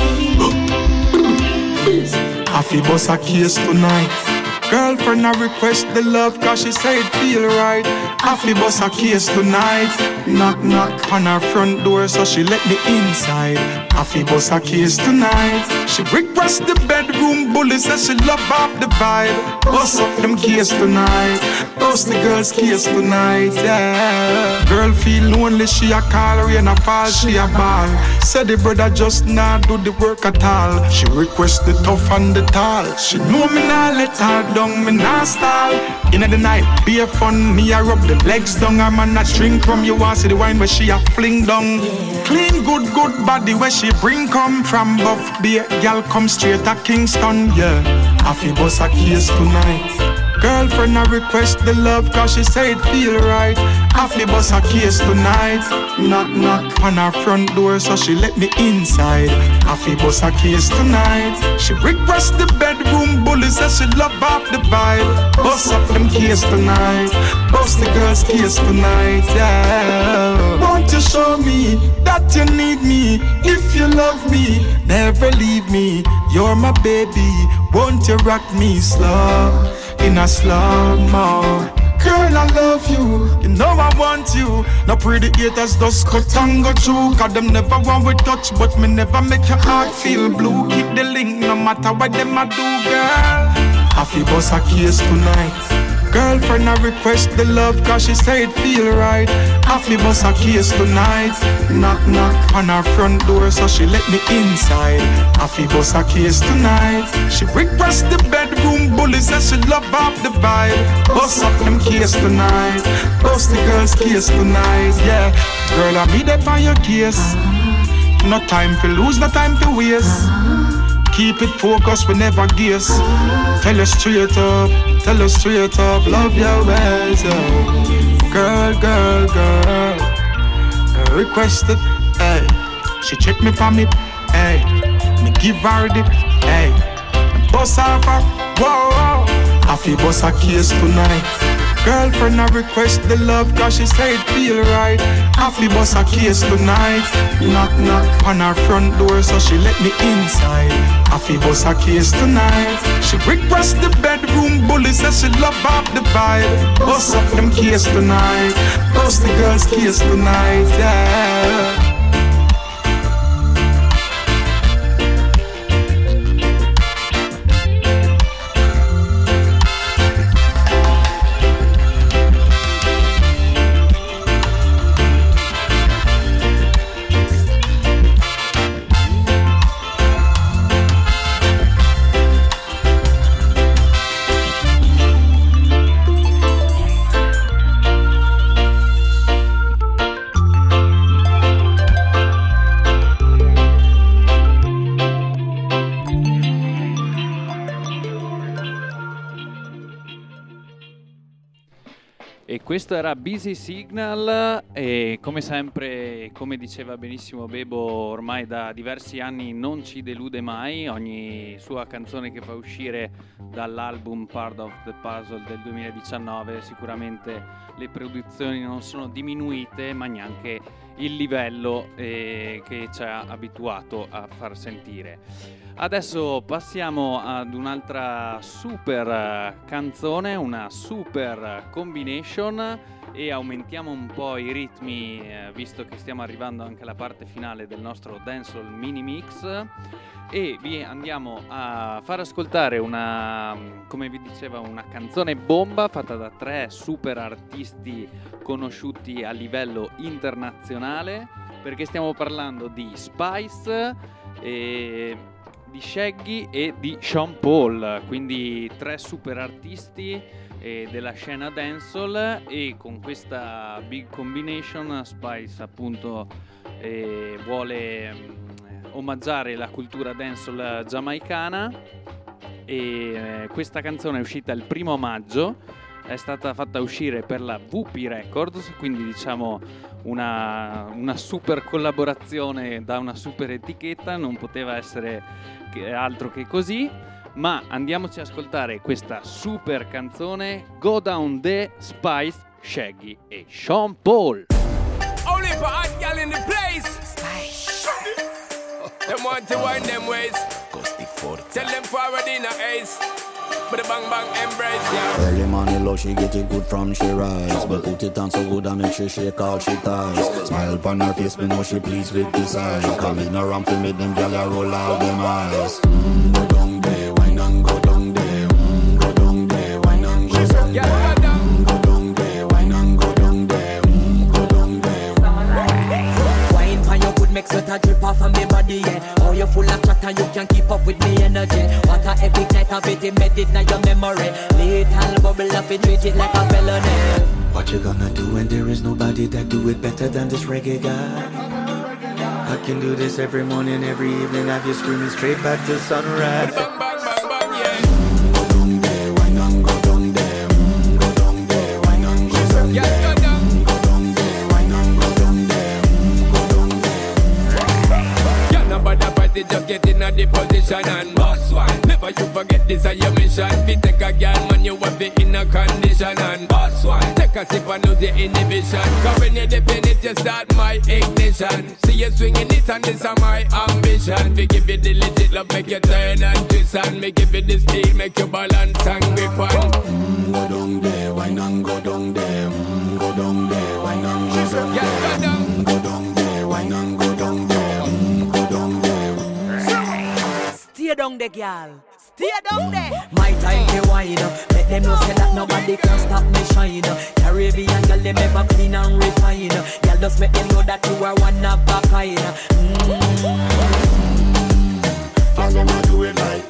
I feel boss a case tonight. Girlfriend I request the love cause she say it feel right. I feel boss a case tonight. Knock knock on her front door so she let me inside. I feel boss a case tonight. She request the bedroom bully says she love off the vibe. Boss up them case tonight. Boss the girls case tonight, yeah. Girl feel lonely, she a call, rain a fall, she a ball. Say the brother just not do the work at all. She request the tough and the tall. She know me not let her down, me not stall. In the night, be a fun, me a rub the legs down. A man a drink from you, want see the wine where she a fling down. Clean good good body where she bring come from. Buff beer, gal come straight to Kingston, yeah. I feel boss a case tonight. Girlfriend I request the love cause she say it feel right. I feel boss a case tonight. Knock knock on her front door so she let me inside. I feel boss a case tonight. She request the bedroom bully says she love off the vibe. Boss up them case tonight. Boss the girls case tonight, yeah. Won't you show me that you need me? If you love me, never leave me. You're my baby, won't you rock me slow? In a slow-mo. Girl, I love you, you know I want you. No pretty haters just cut and go through. Cause them never want we touch, but me never make your heart feel blue. Keep the link no matter what them a do, girl. I feel boss a case tonight. Girlfriend I request the love cause she say it feel right. I feel boss a case tonight. Knock knock on her front door so she let me inside. I feel boss a case tonight. She request the bedroom bully says she love off the vibe. Boss up them case tonight. Boss the girls case tonight, yeah. Girl I be there by your case. No time to lose, no time to waste. Keep it focused, we never guess. Tell her straight up, tell her straight up, love your ways, oh. Girl, girl, girl, uh, requested, hey. She check me for me, hey. Me give her the, hey. Bust off her, whoa, whoa. I feel bust a case tonight. Girlfriend, I request the love cause she say it feel right. I feel bust a case tonight. Knock, knock on her front door so she let me inside. I feel bust a case tonight. She request the bedroom bully, says she love off the vibe. Bust up them case tonight. Bust the girl's case tonight, yeah. Questo era Busy Signal e come sempre, come diceva benissimo Bebo, ormai da diversi anni non ci delude mai. Ogni sua canzone che fa uscire dall'album Part of the Puzzle del duemiladiciannove, sicuramente le produzioni non sono diminuite, ma neanche il livello eh, che ci ha abituato a far sentire. Adesso passiamo ad un'altra super canzone, una super combination, e aumentiamo un po' i ritmi eh, visto che stiamo arrivando anche alla parte finale del nostro Dancehall Mini Mix, e vi andiamo a far ascoltare una, come vi dicevo, una canzone bomba fatta da tre super artisti conosciuti a livello internazionale, perché stiamo parlando di Spice e di Shaggy e di Sean Paul, quindi tre super artisti eh, della scena dancehall, e con questa big combination Spice appunto eh, vuole mh, omaggiare la cultura dancehall giamaicana, e eh, questa canzone è uscita il primo maggio, è stata fatta uscire per la V P Records, quindi diciamo una, una super collaborazione da una super etichetta, non poteva essere che altro che così. Ma andiamoci ad ascoltare questa super canzone, Go Down the Spice, Shaggy e Sean Paul. Only for hot gal in the place. Spice. Them want to wind them ways. Tell them forward in a ace. But a bang bang embrace, yeah. Early money low, she get it good from she rise. But put it on so good and make she shake all she ties. Smile upon her face, me know she pleased with this eyes. Coming around to make them gyal a roll out them eyes. Mm, go down there, wine and go down there. Mm, go down there, wine and go down there. Mm, go down there, wine and go down there. Mm, go down there. Wine for your good makes sweat a drip off of me body, yeah. Oh, you're full of chat and you can't keep up with me energy. What a epic night of it, embedded in your memory. Little bubble up and treat it like a felony. What you gonna do when there is nobody that do it better than this reggae guy? I can do this every morning, every evening, have you screaming straight back to sunrise. Bang bang bang bang, yeah. Mm, go down there, wine and go down there. Mm, go down there, wine and go down Yeah, there. go down. Mm, go down there, wine and go down there. Mm, go down there. Yeah, nobody fight it, just get in a the position and boss one. Never you forget this is your mission. If you take a girl, man, you have it in a condition and boss one. Take a sip and lose your inhibition. Cause when you dip in it, you start my ignition. See you swinging it and this is my ambition. We give you the legit love, make you turn and twist, and me give you the speed, make you balance and grip on. Mm, go down there, wine and go down there. Mm, go down there, wine and go down Yeah, there. go down. Mm, go down there, wine and go down there. Mm, go down there. Stay down there, girl. Stay down there. My time to wine up. Let them know say that nobody can stop me shine. Caribbean girl, them ever clean and refine. Girl, just make them know that you are one of a kind. Mm. Girl, I'ma do it like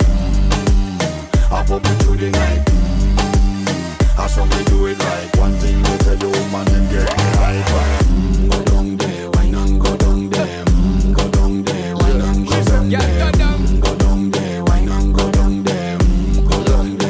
mm, I pop it through the night. Mm, I saw me do it like one thing to tell you, man, and get me hyper. Mm, go down there, wine and go down there. Mm, go down there, wine and go down Yeah, there. go down. Mm, go down there, wine and go down there. Mm, go down there.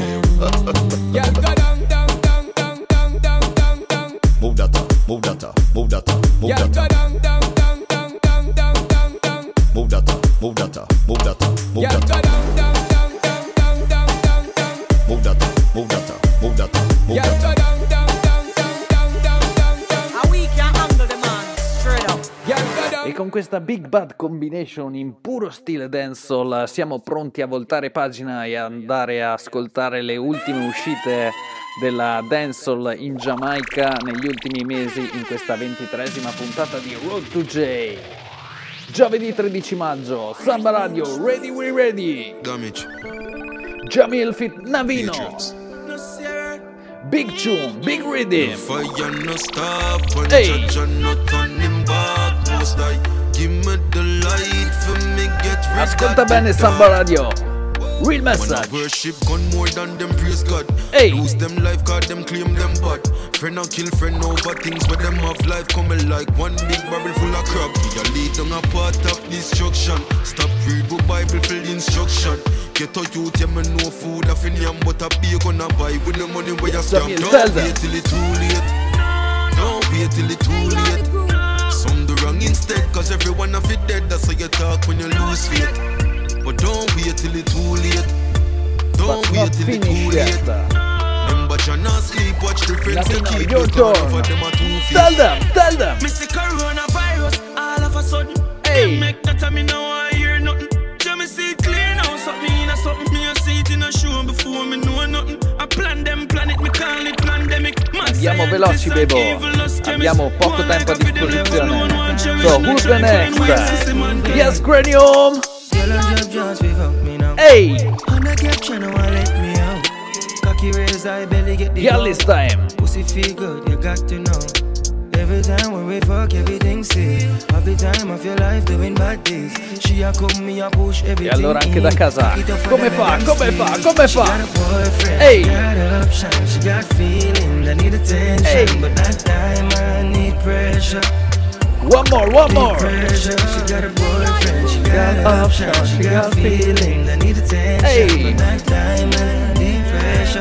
questa Big Bad Combination in puro stile dancehall. Siamo pronti a voltare pagina e andare a ascoltare le ultime uscite della dancehall in Giamaica negli ultimi mesi in questa ventitreesima puntata di Road to J. Giovedì tredici maggio, Samba Radio, ready we ready. Damage. Jamil Fit Navino. Big tune, big rhythm. Fire no stop, when Hey. judge and not turning back. Most like, give me the light for me get rid Ascolta of bene the Samba dark. Radio. Real When I message. worship gun more than them praise God. Hey. Lose them life cause them claim them bad. Friend and kill friend over things where them have life coming like one big barrel full of crap. We are lead on a path of destruction. Stop read the Bible for the instruction. Get a youth, yeah, me no food off in yam, but a beer gonna buy with the money where you scam. Jamil, Don't tell them. wait till it's too late. Don't wait till it's too late. Some do wrong instead, cause everyone of it dead. That's how you talk when you lose faith. But don't wait till it's too late. Don't But wait not till it's too finished late. yet. Remember, you not sleep, watch the friends they Navino, keep. your Because turn. for them are two Tell faced. them, tell them. Mister Coronavirus, all of a sudden. Hey. Them make that me now I hear nothing. Just me see it clear now, something in a something. Me a see it in a show before me know nothing. I plan them planet, me call it pandemic. Mad Andiamo scientist veloci, like Bebo. evilous chemist. Abbiamo poco One like tempo a a fiddle, disposizione. level no one cherish. So, who's the Try to find ways to next? see man dead. Yes, Cranium. Yellow job just we fuck me now. Hey, On the caption, no one let me out. Cocky raise, I belly get the girl gold. this time. Pussy feel good, you got to know. Every time when we fuck, everything sick. Every time of your life doing bad things. She a come, me a push everything. E allora anche in. da casa. Pick it up for Come them fa? and Come see. fa? Come She fa? got a boyfriend, Hey. she got option, she got feeling, I need attention. Hey. But that time I need pressure. One more, one Need more. pressure. She got a boyfriend, she got option, she got feeling, I need attention. Hey. But that time I need pressure.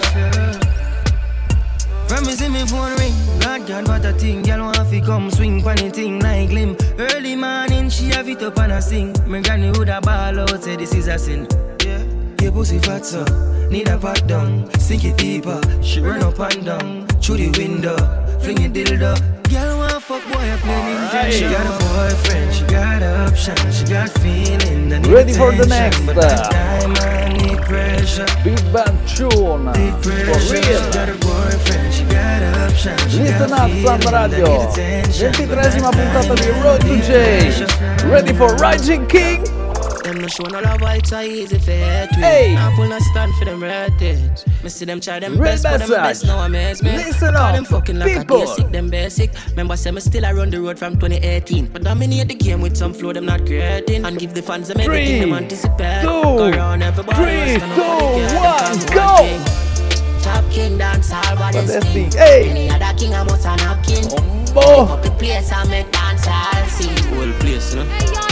From me see me phone ring, God God what a thing. Girl want fi come swing pon the thing like glim. Early morning she have it up and a sing. Me granny woulda ball out say this is a sin. Yeah, your pussy fat so need a pat down. Sink it deeper, she run up and down through the window, fling it dildo. Girl want fuck boy a play Nintendo. She got a boyfriend, she got option, she got feeling. I need Ready for the attention, next. but that time I need pressure. Big Bad Tune. Need For pressure. She got real. a boyfriend, she got option, she Listen got up, feeling, Samba I Radio. need attention, ventitreesima but that puntata di time Road I to need J. pressure. Ready for Rising King? Them no show no love, why it's so easy for hate we. Hey. I pull no stand for them redheads. Me see them try them Real best, but them message. best now amaze me. Listen Call up, them fucking like people. a basic, them basic. Remember say me still I run the road from twenty eighteen. But dominate the game with some flow them not creating. And give the fans them everything them anticipate. two, Go round everybody three, else, two, nobody care. Them one, cause go. king. Top king dance all what What is is king. thing? Hey. Any other king I must have not king. Oh. Up the place I make dance all sing. Whole place, you know.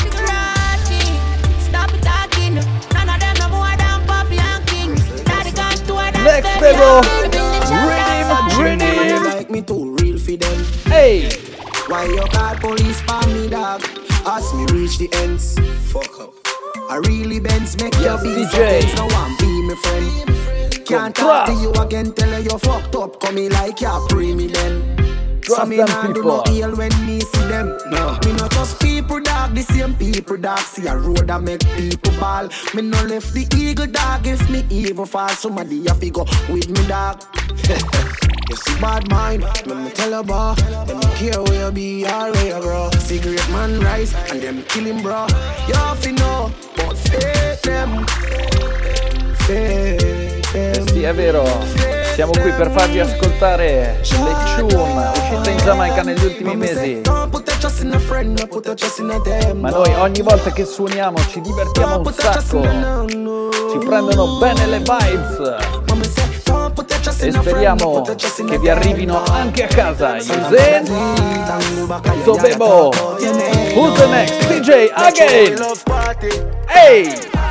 Stop talking. None of them no more than Poppy and King. Daddy gone to a dance. Next level. Rhythm, rhythm. Like me too real for them. Hey. Why you call police for me, dog? Ask me reach the ends. Fuck up. I really bends make Yes, your be D J. so tense. No one be my friend. Can't talk to you again, tell her you fucked up. Come me like you pre me then. Trust So me them nah do people. no ill when me see them. No. Me not just people dog, the same people dog. See a road that make people ball. Me no left the eagle dog. If me evil fall, somebody have to go with me dog. You see bad mind, let me tell you about. Them don't care where you be or where you grow. Cigarette man rise and them kill him bro. You have to know, but fake them. Fake them. Sì, è vero. Siamo qui per farvi ascoltare le tune uscite in Giamaica negli ultimi mesi. Ma noi ogni volta che suoniamo ci divertiamo un sacco. Ci prendono bene le vibes. E speriamo che vi arrivino anche a casa. Yusen, Sobebo, who's the next? D J again. Hey.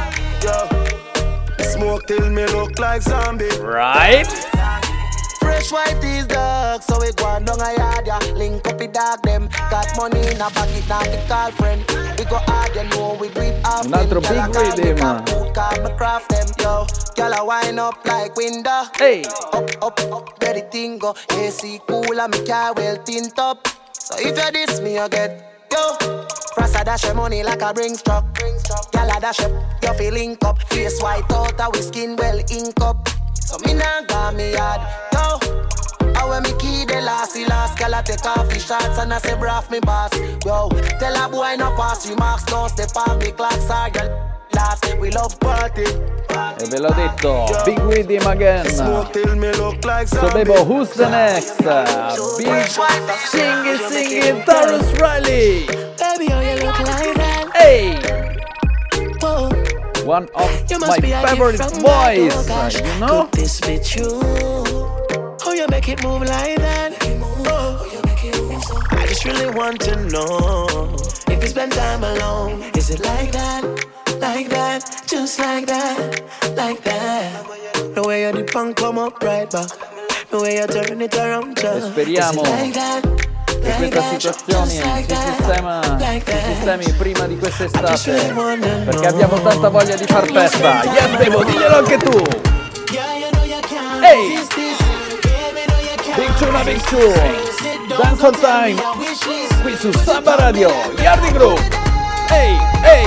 Smoke till me look like zombie. Right. Fresh white is dark, so we go on down a yard, yeah. Link up the dog, them got money in a pocket, now we call friend. We go hard, you know we do it often. Un altro big rhythm. Call me craft them, yo. Girl, I wind up like window. Hey. Up, up, up, ready thing go. A C cool and me car well tint up. So if you diss me, you get yo. Frost a dash your money like a bring truck. Gyal a dash up, you feel link up. Face white out, a we skin well ink up. So me nah got me yard, yo. I when me key the last, the last gyal a take off the shots and I say braff me boss. Yo, tell a boy no pass remarks, don't step on me clocks are girl. Last we love party. E ve l'ho detto, Big with him again. So Bebo, who's the next? Big singing, singing, Tarrus Riley. Baby, oh, you look like that. Hey! Whoa. One of You my must be a favorite gift from boys, God, oh gosh. you know? Could this be true? Oh, you make it move like that. Oh. I just really want to know if you spend time alone. Is it like that? Like that? Just like that? Like that? The way you dip and come up right back. The way you turn it around just. E speriamo Is it like that? che questa situazione si sistema, si sistemi prima di quest'estate, perché abbiamo tanta voglia di far festa. Yes, Bebo, diglielo anche tu. Ehi! Big Tuna, Big Two, Dance on Time, qui su Samba Radio, Yardi Group. Ehi, ehi!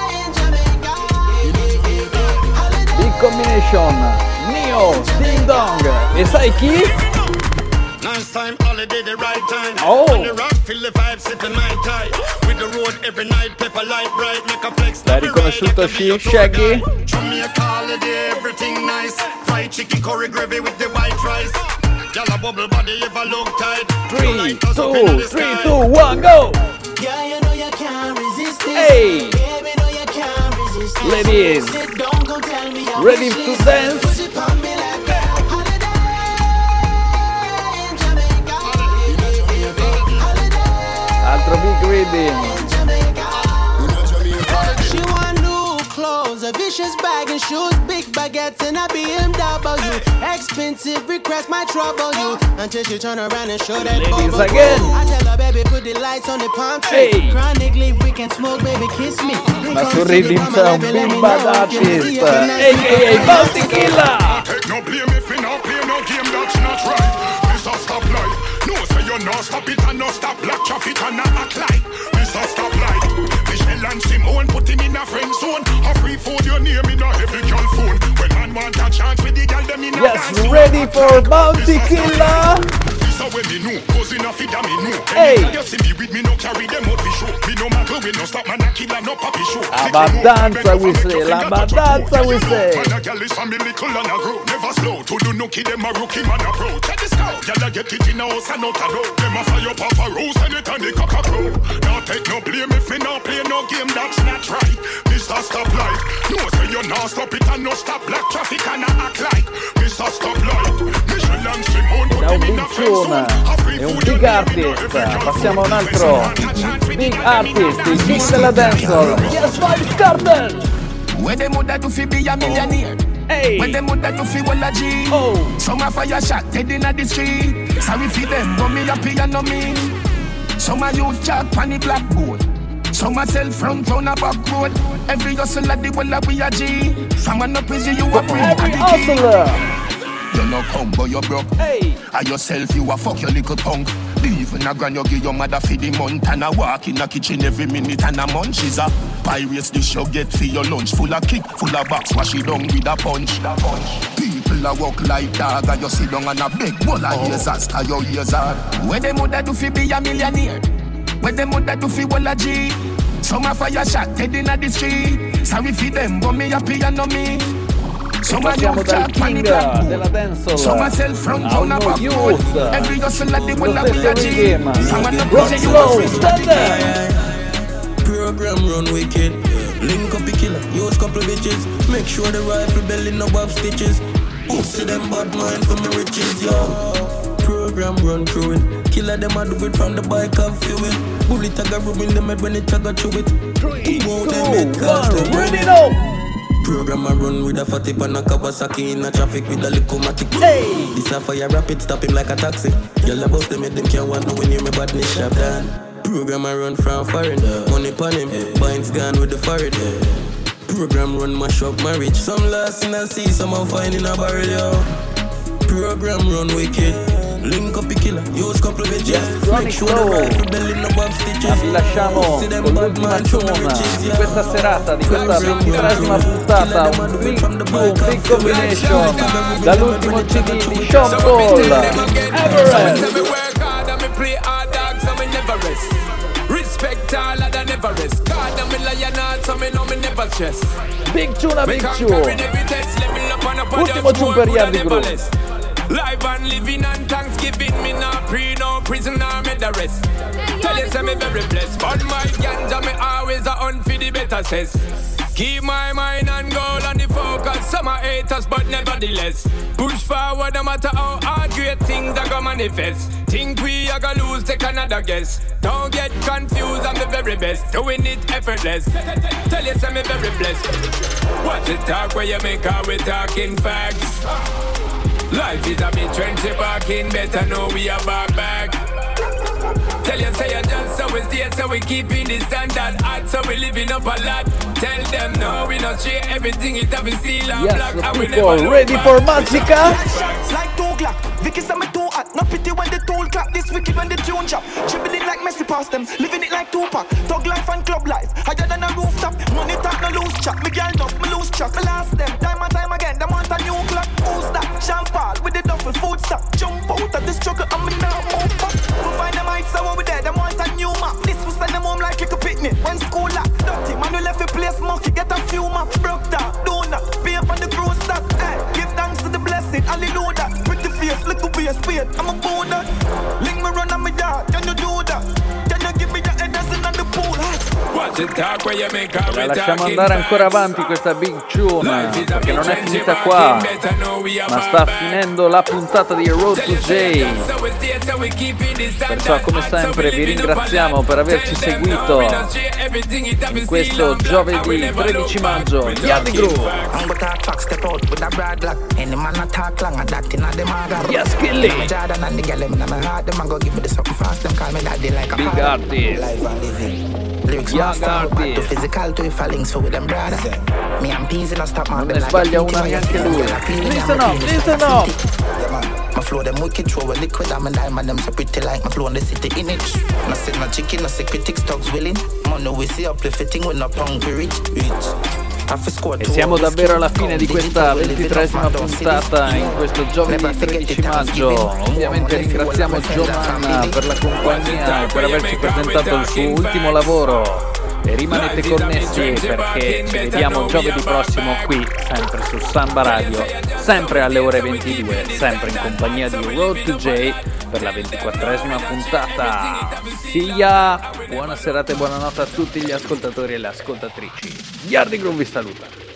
Big Combination, Neo, Ding Dong, e sai chi? Nice time, holiday, the right time. Oh. On the rock, feel the vibe, sipping my tie. With the road every night, pepper light bright, make a flex. L'hai riconosciuto Shaggy? Jamaica holiday, everything nice. Fried chicken, curry gravy with the white rice. Y'all a bubble body, ever look tight. three, two, three, two, one, go! Yeah, you know you can't resist it. Hey! Baby, know you can't resist it. Ladies, Don't go tell me your ready wishes. to dance? Push it on me like that. Altro big reading. She want new clothes, a vicious bag and shoes, big baguettes and a B M W. Expensive request might trouble you until she turn around and show that Ladies bubble. again. I tell her, baby, put the lights on the palm tree. Hey. Chronic leaf, we can smoke, baby, kiss me. Ma su Rhythm c'è un big bad artist, a k a. Bounty Killer. Take no blame if me not play no game that's not right. Mister Stop Light, no say you no stop it and no stop black traffic and not act like Mister Stop Light. Michelle and Simone put him in a friend zone. A free food your name in a heavy girl phone. When man want a chance with the girl them in a Yes, dance zone. ready for Bounty Killer. This a when me know, cause in a feed a me know. Hey. Anytime you see me with me no carry them out for show. Me no matter we no stop man a killer no papi show. Abbastanza we say, l'abbastanza we say. Man a girl is from me little and a grow. Never slow to do nookie them a rookie man a pro. Check this out, girl a get it in a house and out a door. Them a fire up off a rose and it and the cock a crow. Now take no blame if me no play no game that's not right. Mister Stop Light, no say you no stop it and no stop black traffic and a act like Mister Stop Light. Michelle and Simone put Da un him in big a friend zone. tune e un big artist. Passiamo a un altro big artist, il king della dancehall. Yes, Vybz Kartel. Where them woulda do fi be a millionaire? Hey. Where them woulda do fi wall a G? Oh. Some a fire shot dead inna the street. Sorry fi them, but me happy and no me. Some a youth chat pon the blackboard. Some a sell front round a back road. Every hustle at the wall a we a G. From an up easy you a bring a Every the key. hustler. You no come but you broke. Hey. And yourself you a fuck your little punk. Even a grand you give your mother for the month. And a walk in a kitchen every minute and a munch. She's a pirates dish you get for your lunch. Full of kick, full of box, wash it down with a punch. People a walk like dog and you sit down and a big bowl of ears as cause your ears hard. Where them woulda do fi be a millionaire? Where them woulda do fi wall a G? Some a fire shot dead inna the street. Sorry fi them but me happy and no me. Some a Passiamo youth dal chat pon the king della blackboard. dancehall Some a sell front a round un a back youth. road. Every hustle at the Lo wall a we stesso a G. rhythm. Some a no Rock pussy you slow, a stand there. Program run wicked. Link up the killer, use couple bitches. Make sure the rifle belly no have stitches. Pussy them bad mind for me riches, yo. Program run through it. Killer them a do it from the bike and fuel it. Bullet a go rub in them head when it a go through it. Three, two, them one, ready now. Program a run with a fatty pan a Kawasaki in a traffic with a little matic. Hey. This a fire rapid, stop him like a taxi. Y'all about them make them can't want no when you me badness shop down. Program a run from foreign, money pon him, binds gone with the foreign. Program run mash up marriage. Some lost in a sea, some are fine in a barrel, yo. Program run wicked. Link up the killer, use couple of bitches. Make sure the rifle belly no above stitches. Ma vi lasciamo con l'ultima tune di questa serata, di questa ventitresima puntata. Un big boom, big combination dall'ultimo C D di Sean Paul, Everest. Respect all of the never rest. God, I'm a lion, so me know me never chest. Big tune, big tune. Ultimo tune per Yardi Groove. Live and living and Thanksgiving, me not pre, no prison or me the rest. Tell you say me very blessed, but my ganja me always a hunt for the better cess. Keep my mind and goal on the focus. Some are haters, but nevertheless push forward no matter how hard great things are gonna manifest. Think we are gonna lose, take another guess. Don't get confused, I'm the very best, doing it effortless. Tell you say me very blessed. Watch the talk where you make out we talking facts. Life is a bit trendy, barking, better know we are back back. Tell you say you just so we stay, so we keeping the standard hot, so we living up a lot. Tell them no, we not share everything, it have a steel and black. And we never ready for Magica? Like two Glock, Vicky say me too hot. Not pity when the tool clap, this wicked when the tune chop. Dribbling like Messi past them, living it like Tupac. Thug life and club life, higher than a rooftop. Money talk no loose chop, me girl enough, me lose track. Me last them, time and time again, them want a new clock. Who's that? Sean Paul with the duffel, food stop. Jump out of the struggle, and me now move back. We find them heights, so we there, them want a new map. This will send them home like a picnic. When school lock, dirty, man we left a place monkey, get a few maps. Broke down, donut, pay up on the crew stop. Hey, give thanks to the blessing, hallelujah. Pretty face, little be a spade, I'm a boner. Link me run on my yard, can you do that? Can you give me your head in the pool? La lasciamo andare ancora avanti questa big tune, perché non è finita qua, ma sta finendo la puntata di Road to J. Perciò come sempre vi ringraziamo per averci seguito in questo giovedì tredici maggio. Yardi Groove. Yes, Killy. Big artist. Young artist. Non ne sbaglia una neanche lui. Listen up, listen up. My flow them wicked, throw a liquid, I'm a diamond, them so pretty like my flow in the city in it. No sit no chicken, no sick critics, dogs willing. Money we see uplifting, we're not hungry rich, rich. E siamo davvero alla fine di questa ventitresima puntata in questo giovedì tredici maggio. Ovviamente ringraziamo Giovanna per la compagnia e per averci presentato il suo ultimo lavoro. E rimanete connessi perché ci vediamo giovedì prossimo qui, sempre su Samba Radio, sempre alle ore ventidue, sempre in compagnia di Road to J per la ventiquattresima puntata. See ya! Buona serata e buonanotte a tutti gli ascoltatori e le ascoltatrici. Yardi Groove vi saluta.